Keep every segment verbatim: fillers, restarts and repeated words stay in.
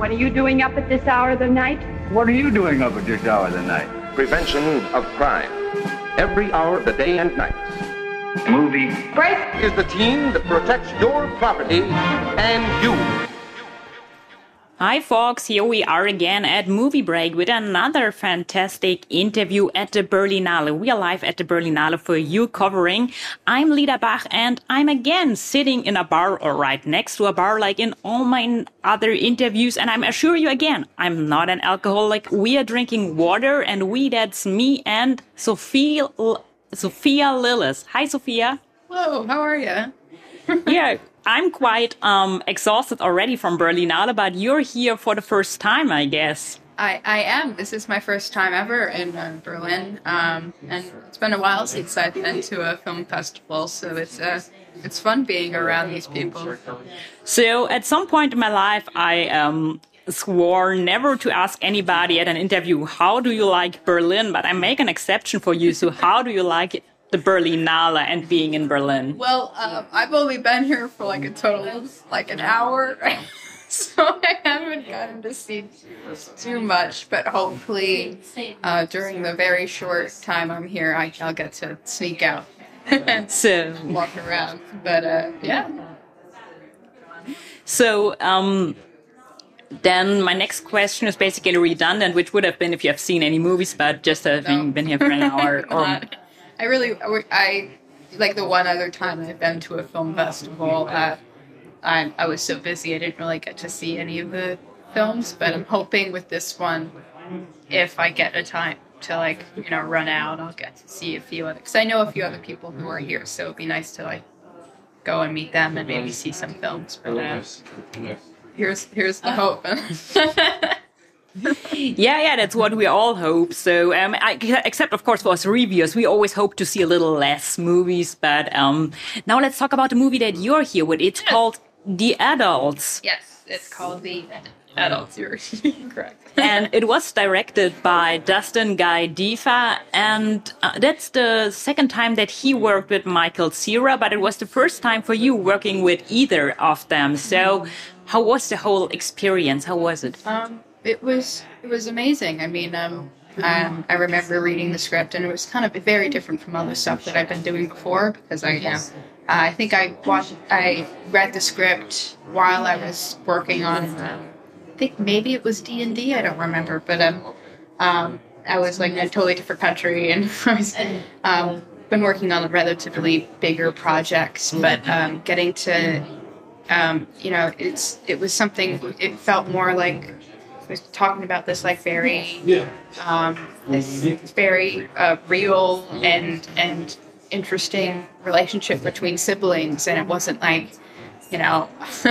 What are you doing up at this hour of the night? What are you doing up at this hour of the night? Prevention of crime. Every hour of the day and night. Movie Break! Is the team that protects your property and you. Hi folks, here we are again at Movie Break with another fantastic interview at the Berlinale. We are live at the Berlinale for you covering. I'm Lida Bach and I'm again sitting in a bar or right next to a bar like in all my other interviews. And I'm assure you again, I'm not an alcoholic. We are drinking water and we, that's me and Sophia, Sophia Lillis. Hi Sophia. Hello, how are you? Yeah. I'm quite um, exhausted already from Berlinale, but you're here for the first time, I guess. I, I am. This is my first time ever in uh, Berlin, um, and it's been a while since I've been to a film festival, so it's uh, it's fun being around these people. So at some point in my life, I um, swore never to ask anybody at an interview, how do you like Berlin? But I make an exception for you, so how do you like it? The Berlinale and being in Berlin? Well, um, I've only been here for like a total of like an hour, so I haven't gotten to see too much, but hopefully uh, during the very short time I'm here, I, I'll get to sneak out and so, walk around, but uh, yeah. So, um... then my next question is basically redundant, which would have been if you have seen any movies, but just having No. been here for an hour. Or, I really, I, like the one other time I've been to a film festival, uh, I, I was so busy I didn't really get to see any of the films, but I'm hoping with this one, if I get a time to like, you know, run out, I'll get to see a few other, because I know a few other people who are here, so it'd be nice to like go and meet them and maybe see some films, but uh, here's, here's the hope. Yeah, yeah, that's what we all hope. So, um, I, except of course for us reviewers, we always hope to see a little less movies. But um, now let's talk about the movie that you're here with. It's called The Adults. Yes, it's called The Adults. You're correct. And it was directed by Dustin Guy Defa, and uh, that's the second time that he worked with Michael Cera, but it was the first time for you working with either of them. So, how was the whole experience? How was it? Um. It was it was amazing. I mean, um, um, I remember reading the script, and it was kind of very different from other stuff that I've been doing before. Because I, you know, uh, I think I watched, I read the script while I was working on. Uh, I think maybe it was D and D. I don't remember, but um, um, I was like in a totally different country, and I was um, been working on relatively bigger projects, but um, getting to, um, you know, it's it was something. It felt more like. Was talking about this like very, um, this very uh, real and and interesting relationship between siblings, and it wasn't like, you know,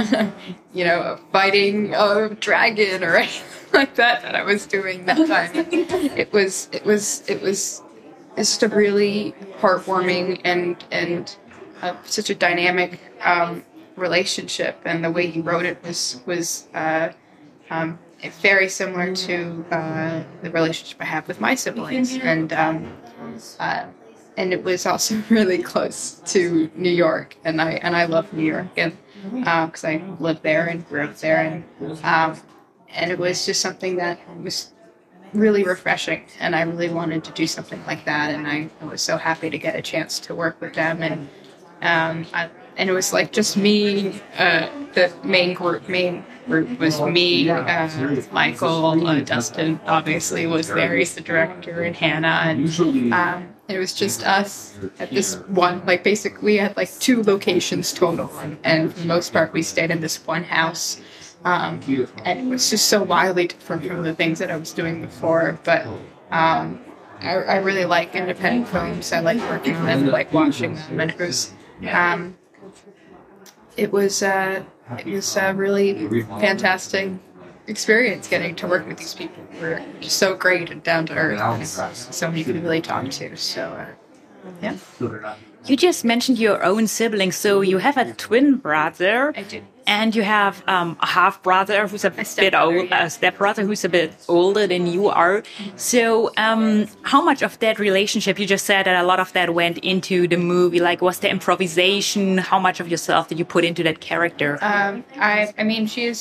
you know, fighting a dragon or anything like that that I was doing that time. It was it was it was just a really heartwarming and and uh, such a dynamic um, relationship, and the way he wrote it was was. Uh, um, very similar to uh, the relationship I have with my siblings, and um, uh, and it was also really close to New York, and I and I love New York, and because uh, I lived there and grew up there, and um, and it was just something that was really refreshing, and I really wanted to do something like that, and I, I was so happy to get a chance to work with them, and um, I, and it was like just me, uh, the main group, main. group was me, uh, Michael, uh, Dustin obviously was there, he's the director, and Hannah, and um, it was just us at this one, like basically we had like two locations total, and for the most part we stayed in this one house, um, and it was just so wildly different from the things that I was doing before, but um, I, I really like independent films, I like working on them, I like watching them, and it was, um, it was, uh, It was a really fantastic experience getting to work with these people who were just so great and down to earth. And so many people to really talk to. So, uh, yeah. You just mentioned your own siblings. So you have a twin brother. I do. And you have um, a half brother who's a, a bit old, yeah. a step brother who's a bit older than you are. So, um, how much of that relationship, you just said that a lot of that went into the movie, like was the improvisation? How much of yourself did you put into that character? Um, I, I mean, she's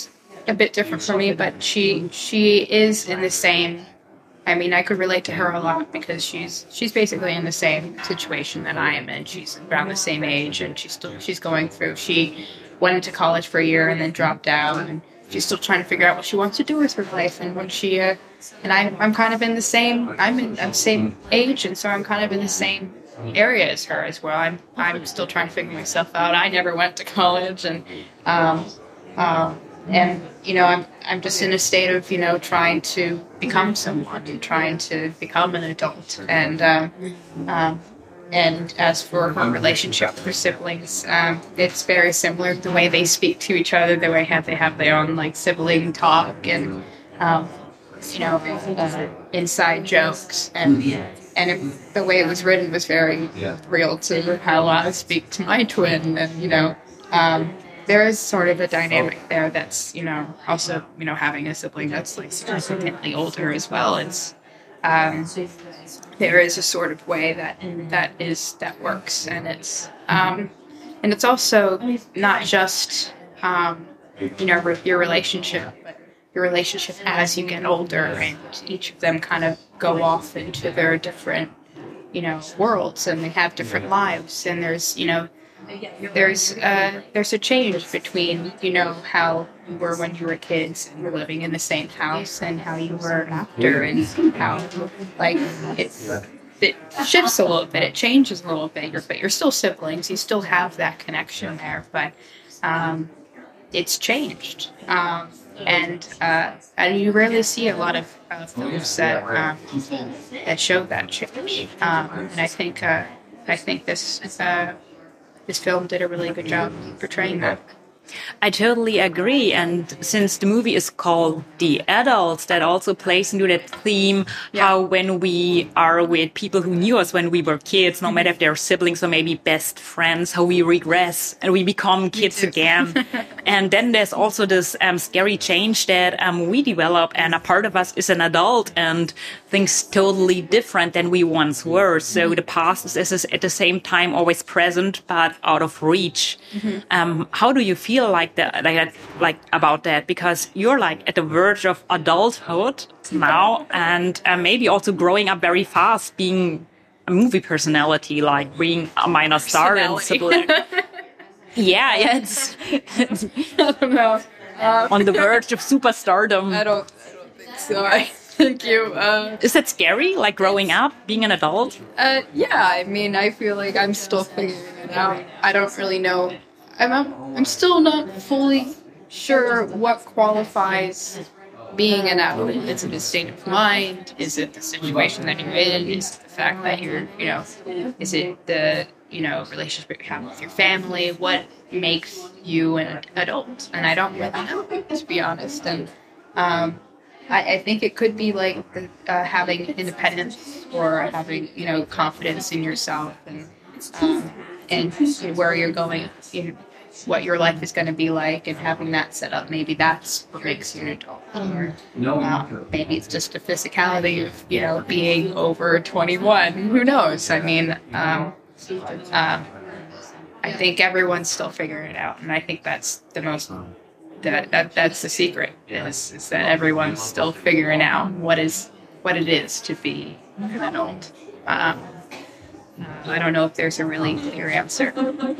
a bit different for me, but she she is in the same. I mean, I could relate to her a lot because she's she's basically in the same situation that I am in. She's around the same age, and she's still she's going through. She went into college for a year and then dropped out, and she's still trying to figure out what she wants to do with her life. And when she uh, and I I'm kind of in the same I'm in the same age, and so I'm kind of in the same area as her as well. I'm I'm still trying to figure myself out. I never went to college, and um, um, and you know I'm I'm just in a state of you know trying to become someone and trying to become an adult. And um, um, and as for her relationship with her siblings, um, it's very similar to the way they speak to each other. The way have they have their own like sibling talk and um, you know uh, inside jokes and. And it, the way it was written was very real to how I speak to my twin. And, you know, um, there is sort of a dynamic there that's, you know, also, you know, having a sibling that's, like, significantly older as well. It's, um, there is a sort of way that that is, that works. And it's, um, and it's also not just, um, you know, your relationship, but your relationship as you get older, and each of them kind of go off into their different, you know, worlds, and they have different lives. And there's, you know, there's uh, there's a change between, you know, how you were when you were kids and were living in the same house, and how you were after, and how, like, it it shifts a little bit, it changes a little bit. You're, but you're still siblings, you still have that connection there, but um, it's changed. Um, And uh, and you rarely see a lot of uh, films that um, that show that change. Um, and I think uh, I think this uh, this film did a really good job portraying that. I totally agree. And since the movie is called The Adults, that also plays into that theme, yeah. How when we are with people who knew us when we were kids, no matter if they're siblings or maybe best friends, how we regress and we become kids again. And then there's also this um, scary change that um, we develop, and a part of us is an adult and thinks totally different than we once were. So the past is, is at the same time always present, but out of reach. Mm-hmm. Um, how do you feel like that, like, like about that? Because you're like at the verge of adulthood now, and uh, maybe also growing up very fast, being a movie personality, like being a minor star and sibling. Yeah, yeah, it's, it's I don't know. Um, on the verge of superstardom. I don't, I don't think so. I think you. Uh, Is that scary? Like growing up, being an adult? Uh, yeah, I mean, I feel like I'm still figuring it out. I don't really know. I'm, I'm still not fully sure what qualifies being an adult. Is it a state of mind? Is it the situation that you're in? Is it the fact that you're, you know, is it the, you know, relationship you have with your family? What makes you an adult? And I don't really know, to be honest. And um, I, I think it could be like uh, having independence or having, you know, confidence in yourself, and um, and where you're going, you know, what your life is going to be like, and having that set up. Maybe that's what makes you an adult. Or uh, maybe it's just the physicality of, you know, being over twenty-one. Who knows? I mean, um, uh, I think everyone's still figuring it out, and I think that's the most. That, that that's the secret, is is that everyone's still figuring out what is what it is to be an adult. Um, I don't know if there's a really clear answer.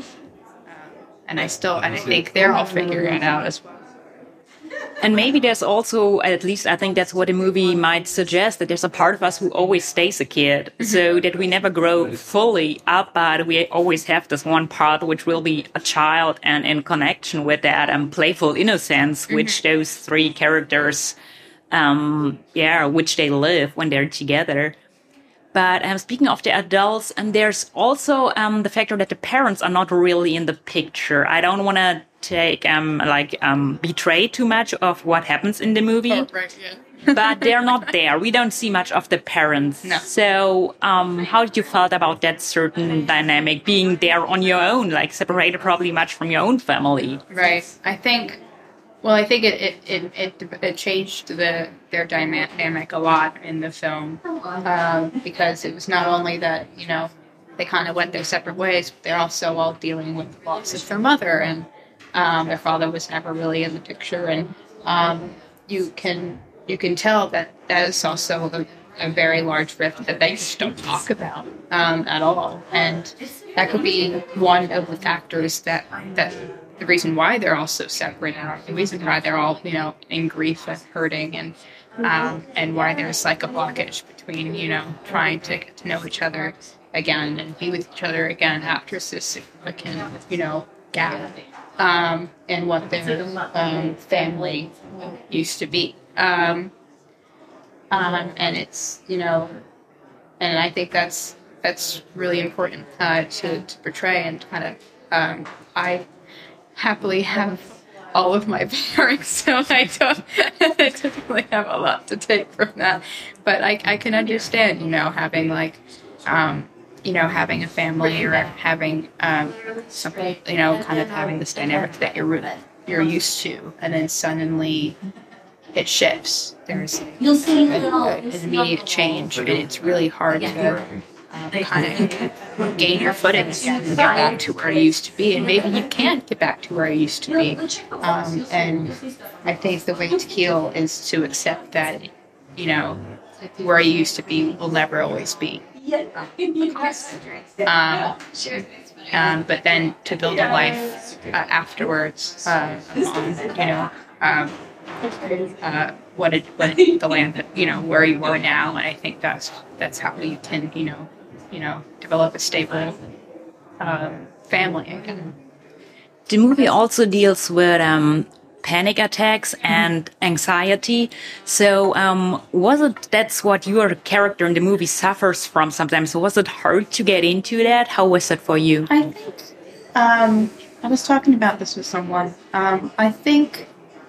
And I still, and I think they're all figuring it out as well. And maybe there's also, at least I think that's what the movie might suggest, that there's a part of us who always stays a kid, so that we never grow fully up, but we always have this one part which will be a child, and in connection with that um, playful innocence, mm-hmm. which those three characters, um, yeah, which they live when they're together. But um, speaking of the adults, and there's also um, the factor that the parents are not really in the picture. I don't want to take um like um betray too much of what happens in the movie, oh, right, yeah. But they're not there. We don't see much of the parents. No. So um, how did you felt about that certain dynamic, being there on your own, like separated probably much from your own family? Right. I think. Well, I think it it, it, it, it changed the their dynamic a lot in the film, um, because it was not only that, you know, they kind of went their separate ways, but they're also all dealing with the loss of their mother, and um, their father was never really in the picture, and um, you can you can tell that that is also a, a very large rift that they just don't talk about um, at all, and that could be one of the factors that that the reason why they're all so separate, and the reason why they're all you know in grief and hurting, and um, and why there's like a blockage between you know trying to get to know each other again and be with each other again after this significant you know gap um, and what their um, family used to be. Um, um, and it's, you know, and I think that's that's really important uh, to, to portray and kind of, um, I happily have all of my parents, so I don't I typically have a lot to take from that. But I, I can understand, you know, having like, um, you know, having a family or having um, something, you know, kind of having this dynamic that you're you're used to, and then suddenly it shifts. There's an immediate change, and it's really hard to um, kind of gain your footing and get back to where you used to be. And maybe you can't get back to where you used to be. Um, and I think the way to heal is to accept that, you know, where you used to be will never always be. Um, um, but then to build a life uh, afterwards, uh, on, you know, um, uh, what, it, what the land that, you know, where you are now. And I think that's that's how you can, you know, you know, develop a stable um, family again. The movie also deals with um, panic attacks and anxiety. So um, was it, that's what your character in the movie suffers from sometimes. So was it hard to get into that? How was it for you? I think, um, I was talking about this with someone. Um, I think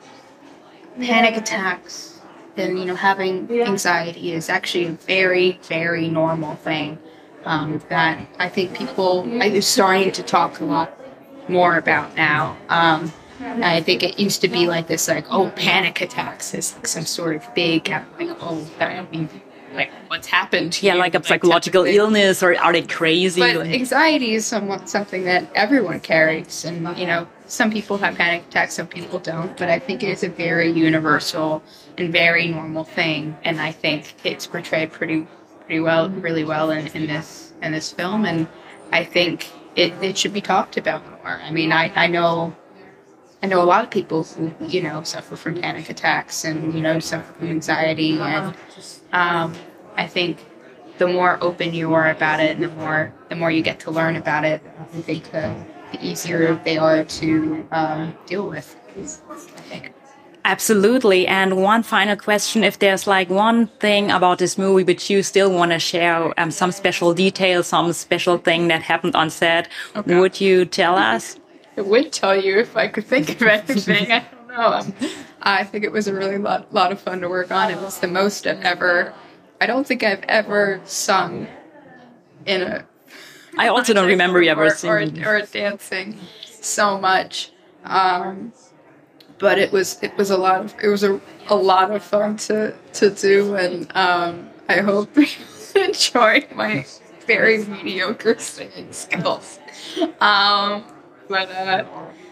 panic attacks and, you know, having anxiety is actually a very, very normal thing um, that I think people are starting to talk a lot more about now. Um, I think it used to be like this, like, oh, panic attacks is like some sort of big, like, oh, I mean, like, what's happened to Yeah, you? like a psychological like, illness, or are they crazy? But anxiety is somewhat something that everyone carries, and, you know, some people have panic attacks, some people don't, but I think it is a very universal and very normal thing, and I think it's portrayed pretty pretty well, really well in, in this in this film, and I think it, it should be talked about more. I mean, I, I know I know a lot of people who, you know, suffer from panic attacks and, you know, suffer from anxiety, and um, I think the more open you are about it, and the more the more you get to learn about it, I think the, the easier they are to um, deal with, I think. Absolutely. And one final question, if there's like one thing about this movie which you still want to share, um, some special detail, some special thing that happened on set, okay, would you tell us? I would tell you if I could think of anything. I don't know. Um, I think it was a really lot, lot of fun to work on. It was the most I've ever, I don't think I've ever sung in a... I also don't remember you ever singing. Or, or dancing so much. Um, but it was it was a lot of, it was a, a lot of fun to, to do, and um, I hope you enjoy my very mediocre singing skills. Um, but uh,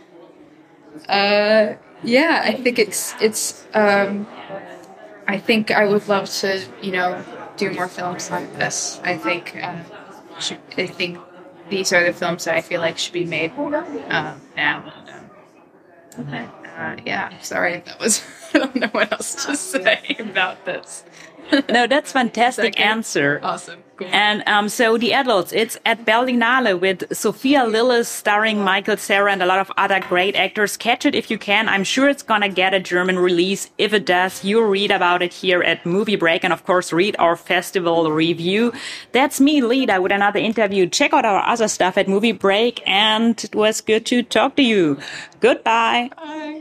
uh, yeah, I think it's it's. Um, I think I would love to, you know, do more films like this. I think uh, should, I think these are the films that I feel like should be made uh, now. And, um, uh, yeah, sorry, that was. I don't know what else to say about this. No, that's fantastic okay? answer. Awesome. Cool. And um, so The Adults, it's at Berlinale with Sophia Lillis starring Michael Cera and a lot of other great actors. Catch it if you can. I'm sure it's going to get a German release. If it does, you'll read about it here at Movie Break, and of course read our festival review. That's me, Lida, with another interview. Check out our other stuff at Movie Break, and it was good to talk to you. Goodbye. Bye.